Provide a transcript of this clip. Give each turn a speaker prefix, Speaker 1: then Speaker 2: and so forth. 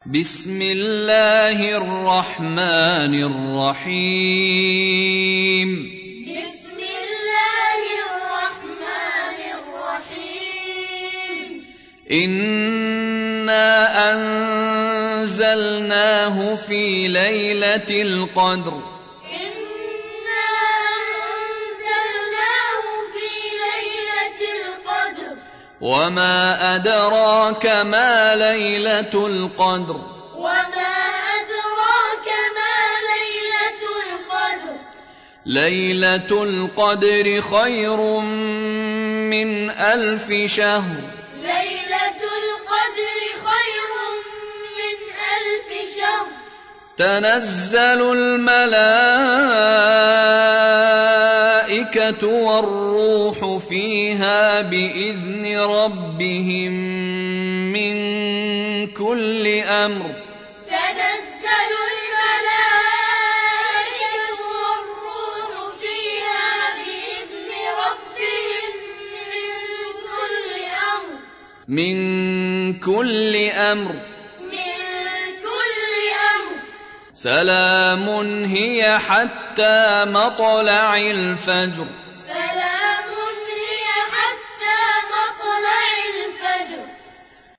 Speaker 1: بسم الله الرحمن الرحيم
Speaker 2: بسم الله الرحمن الرحيم
Speaker 1: إنا أنزلناه في ليلة القدر
Speaker 2: إنا أنزلناه في ليلة القدر
Speaker 1: وما أدراك ما ليلة القدر
Speaker 2: وما أدراك ما ليلة القدر
Speaker 1: ليلة القدر خير من 1000 شهر
Speaker 2: ليلة القدر خير من 1000 شهر
Speaker 1: تنزل الملائكة والروح فيها بإذن ربهم من كل أمر
Speaker 2: تنزل الملائكة والروح فيها بإذن ربهم
Speaker 1: من كل أمر سلام هي حتى مطلع الفجر